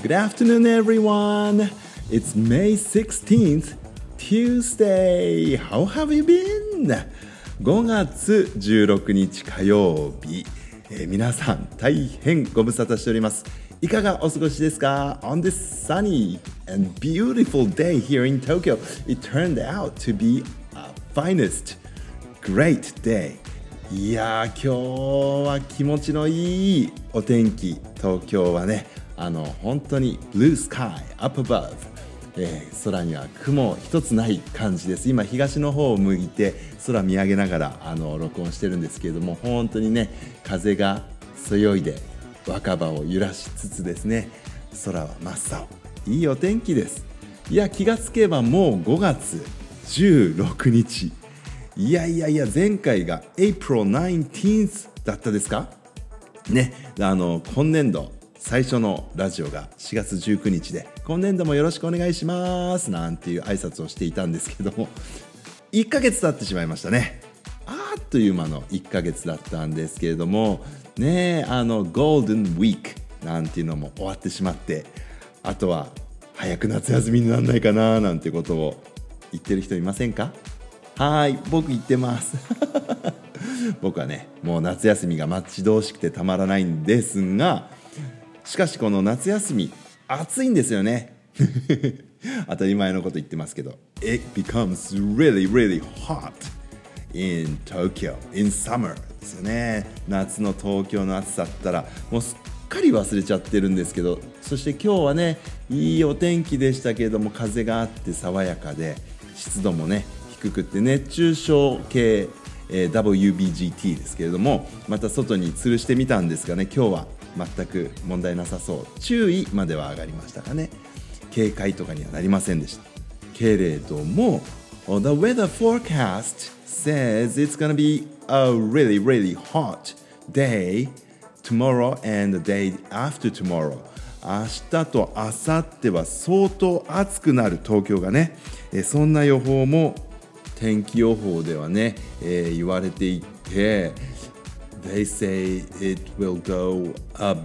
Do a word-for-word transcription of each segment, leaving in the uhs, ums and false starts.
Good afternoon, everyone. It's May sixteenth, Tuesday. How have you been? ごがつじゅうろくにち火曜日、えー、皆さん大変ご無沙汰しております。いかがお過ごしですか？ On this sunny and beautiful day here in Tokyo, it turned out to be a finest great day. いやー、今日は気持ちのいいお天気。東京はね、あの本当に Blue Sky up above、えー、空には雲一つない感じです。今東の方を向いて空見上げながらあの録音してるんですけれども、本当にね、風がそよいで若葉を揺らしつつですね、空は真っ青、いいお天気です。いや、気がつけばもうごがつじゅうろくにち。いやいやいや、前回が April nineteenth だったですかね。あの今年度最初のラジオがしがつじゅうくにちで、今年度もよろしくお願いしますなんていう挨拶をしていたんですけども、いっかげつ経ってしまいましたね。あっという間のいっかげつだったんですけれどもね、あのゴールデンウィークなんていうのも終わってしまって、あとは早く夏休みにならないかななんてことを言ってる人いませんか？はい、僕言ってます僕はね、もう夏休みが待ち遠しくてたまらないんですが、しかしこの夏休み暑いんですよね当たり前のこと言ってますけど、 It becomes really really hot in Tokyo in summer ですよね。夏の東京の暑さだったらもうすっかり忘れちゃってるんですけど、そして今日はね、いいお天気でしたけれども、風があって爽やかで、湿度もね低くって熱中症系、えー、ダブリュービージーティー ですけれども、また外に吊るしてみたんですがね、今日は全く問題なさそう。注意までは上がりましたかね。警戒とかにはなりませんでしたけれども、 The weather forecast says it's gonna be a really really hot day tomorrow and the day after tomorrow。 明日と明後日は相当暑くなる東京がね、えそんな予報も天気予報ではね、えー、言われていて、 They say it will go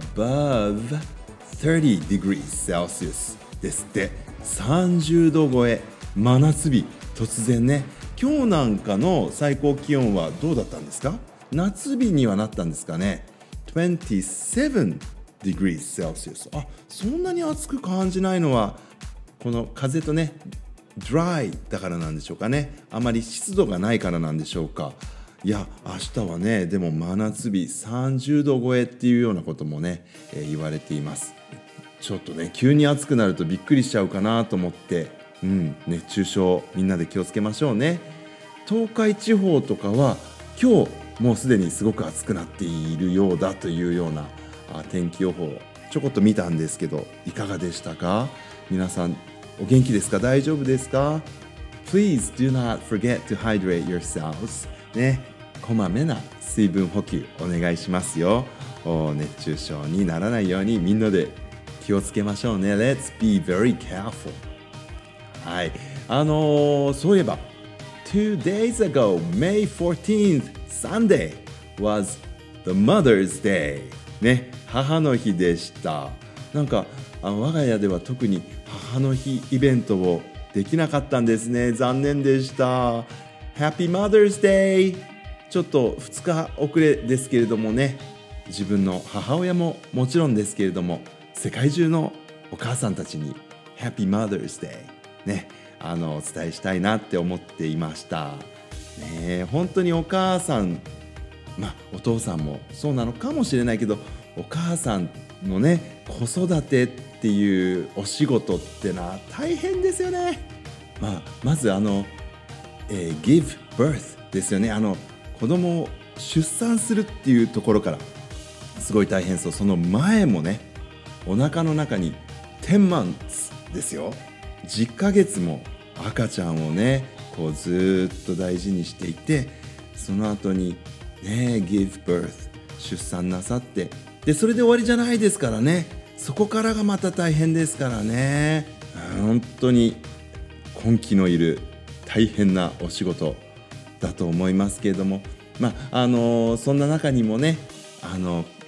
above thirty degrees Celsius ですって。さんじゅうど超え、真夏日。突然ね、今日なんかの最高気温はどうだったんですか？夏日にはなったんですかね。twenty-seven degrees Celsius。 あ、そんなに暑く感じないのはこの風とね、dry だからなんでしょうかね。あまり湿度がないからなんでしょうか。いや、明日はね、でも真夏日さんじゅうど超えっていうようなこともね、えー、言われています。ちょっとね、急に暑くなるとびっくりしちゃうかなと思って、うん、熱中症みんなで気をつけましょうね。東海地方とかは今日もうすでにすごく暑くなっているようだというようなあ天気予報ちょこっと見たんですけど、いかがでしたか？皆さんお元気ですか？大丈夫ですか？ Please do not forget to hydrate yourselves。 ね、こまめな水分補給お願いしますよ。熱中症にならないようにみんなで気をつけましょうね。 Let's be very careful。 はい、あのー、そういえば Two days ago, May fourteenth, Sunday was the Mother's Day。 ね、母の日でした。なんかあの我が家では特に母の日イベントをできなかったんですね。残念でした。 Happy Mother's Day。 ちょっとふつか遅れですけれどもね、自分の母親ももちろんですけれども、世界中のお母さんたちに Happy Mother's Day ね、あのお伝えしたいなって思っていました、ね、本当にお母さん、まあお父さんもそうなのかもしれないけど、お母さんのね、子育てっていうお仕事ってのは大変ですよね。まあ、まずあの、えー、give birth ですよね。あの子供を出産するっていうところからすごい大変そう。その前もね、お腹の中にten monthsですよ。じゅっかげつも赤ちゃんをね、こうずっと大事にしていて、その後にね、give birth 出産なさって、でそれで終わりじゃないですからね。そこからがまた大変ですからね。本当に根気のいる大変なお仕事だと思いますけれども、まああのそんな中にもね、あの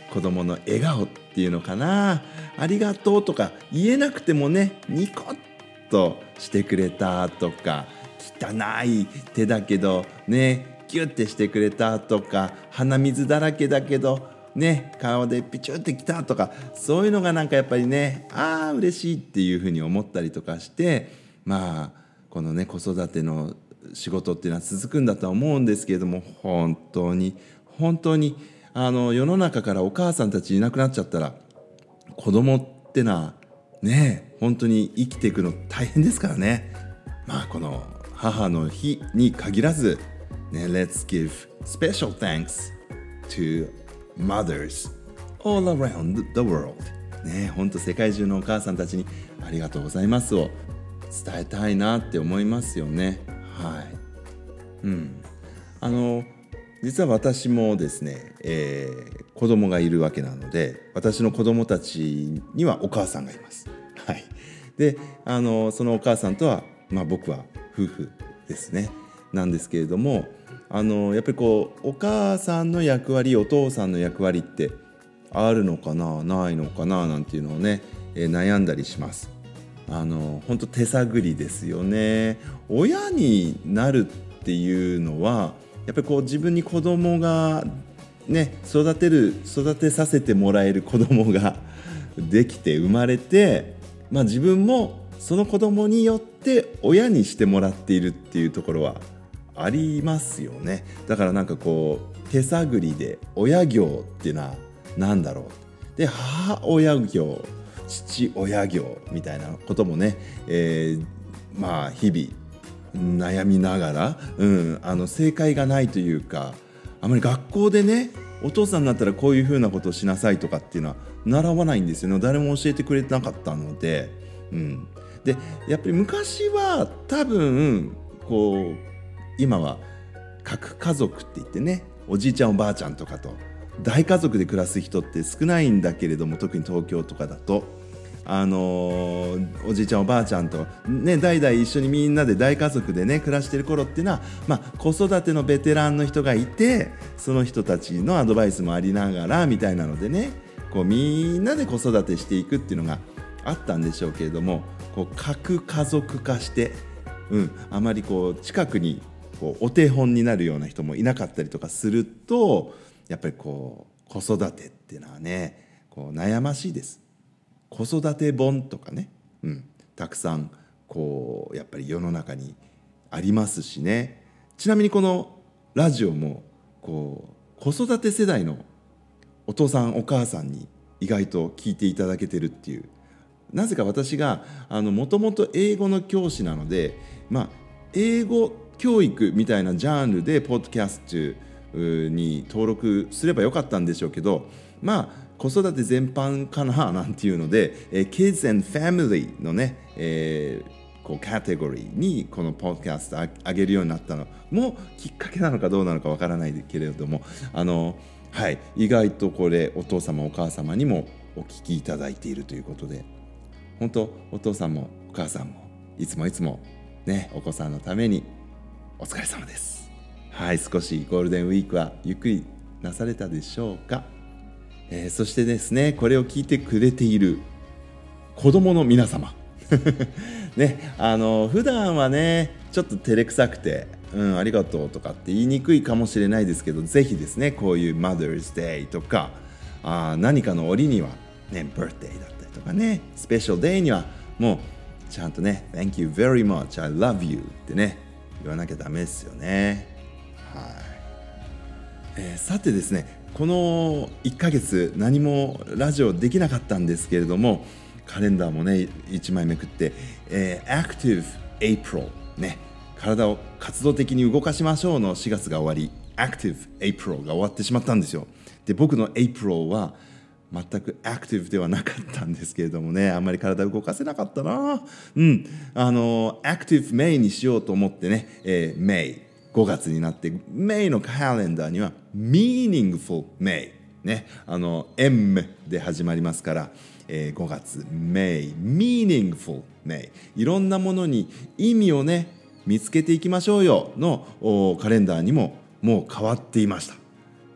子供の笑顔っていうのかな、ありがとうとか言えなくてもね、ニコッとしてくれたとか、汚い手だけどねギュッてしてくれたとか、鼻水だらけだけどね顔でピチュってきたとか、そういうのがなんかやっぱりね、あー嬉しいっていうふうに思ったりとかして、まあこのね子育ての仕事っていうのは続くんだとは思うんですけれども、本当に本当にあの世の中からお母さんたちいなくなっちゃったら、子供ってのはね本当に生きていくの大変ですからね。まあこの母の日に限らずね、Let's give special thanks to mothers all around the world。 ね、本当世界中のお母さんたちにありがとうございますを伝えたいなって思いますよね。はい。うん。あの実は私もですね、えー、子供がいるわけなので、私の子供たちにはお母さんがいます。はい。で、あのそのお母さんとは、まあ、僕は夫婦ですね。なんですけれども、あのやっぱりこうお母さんの役割、お父さんの役割ってあるのかな、ないのかななんていうのをね、えー、悩んだりします。あの本当手探りですよね。親になるっていうのはやっぱりこう自分に子供がね育てる育てさせてもらえる子供ができて生まれて、まあ、自分もその子供によって親にしてもらっているっていうところはありますよね。だからなんかこう手探りで親業っていうのは何だろうで、母親業、父親業みたいなこともね、えー、まあ日々悩みながら、うん、あの正解がないというか、あまり学校でねお父さんになったらこういうふうなことをしなさいとかっていうのは習わないんですよね。誰も教えてくれてなかったので、うん、でやっぱり昔は多分こう今は核家族って言ってね、おじいちゃんおばあちゃんとかと大家族で暮らす人って少ないんだけれども、特に東京とかだとあのー、おじいちゃんおばあちゃんと、ね、代々一緒にみんなで大家族でね暮らしてる頃っていうのは、まあ、子育てのベテランの人がいて、その人たちのアドバイスもありながらみたいなのでね、こうみんなで子育てしていくっていうのがあったんでしょうけれども、こう核家族化して、うん、あまりこう近くにこうお手本になるような人もいなかったりとかすると、やっぱりこう子育てっていうのはねこう悩ましいです。子育て本とかね、うん、たくさんこうやっぱり世の中にありますしね。ちなみにこのラジオもこう子育て世代のお父さんお母さんに意外と聞いていただけてるっていう、なぜか私がもともと英語の教師なので、まあ、英語教育みたいなジャンルでポッドキャストに登録すればよかったんでしょうけど、まあ子育て全般かななんていうので、えー、Kids and Family のね、えー、こうカテゴリーにこのポッドキャスト上げるようになったのもきっかけなのかどうなのかわからないけれども、あの、はい、意外とこれお父様お母様にもお聞きいただいているということで、本当お父さんもお母さんもいつもいつもねお子さんのためにお疲れ様です。はい、少しゴールデンウィークはゆっくりなされたでしょうか。えー、そしてですね、これを聞いてくれている子供の皆様ね、あの普段はねちょっと照れくさくて、うん、ありがとうとかって言いにくいかもしれないですけど、ぜひですねこういう Mother's Day とかあ何かの折にはね Birthday だったりとかね、スペシャルデーにはもうちゃんとね Thank you very much, I love you ってね言わなきゃダメですよね。はい、えー、さてですね、このいっかげつ何もラジオできなかったんですけれども、カレンダーもねいちまいめくって、えー、Active April ね、体を活動的に動かしましょうのしがつが終わり、 Active April が終わってしまったんですよ。で僕の April は全くアクティブではなかったんですけれどもね、あんまり体動かせなかったな。うんあのアクティブメイにしようと思ってね、えー、メイごがつになってメイのカレンダーには Meaningful May ね、あの M で始まりますから、えー、ごがつ May Meaningful May、 いろんなものに意味をね見つけていきましょうよのカレンダーにももう変わっていました。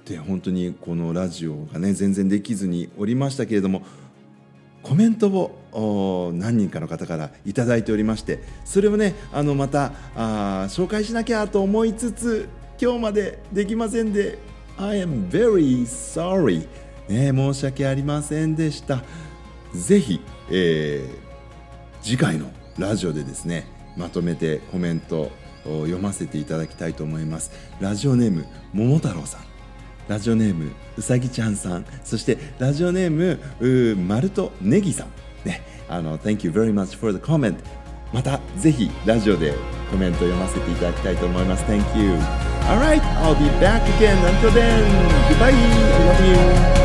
で本当にこのラジオがね全然できずにおりましたけれども、コメントを何人かの方からいただいておりまして、それをねあのまたあ紹介しなきゃと思いつつ今日までできませんで I am very sorry、ね、申し訳ありませんでした。ぜひ、えー、次回のラジオでですねまとめてコメントを読ませていただきたいと思います。ラジオネーム桃太郎さん、ラジオネームうさぎちゃんさん、そしてラジオネームマルトネギさん、ね、あの Thank you very much for the comment。 またぜひラジオでコメント読ませていただきたいと思います。 Thank you. Alright, I'll be back again. Until then, goodbye. I love you.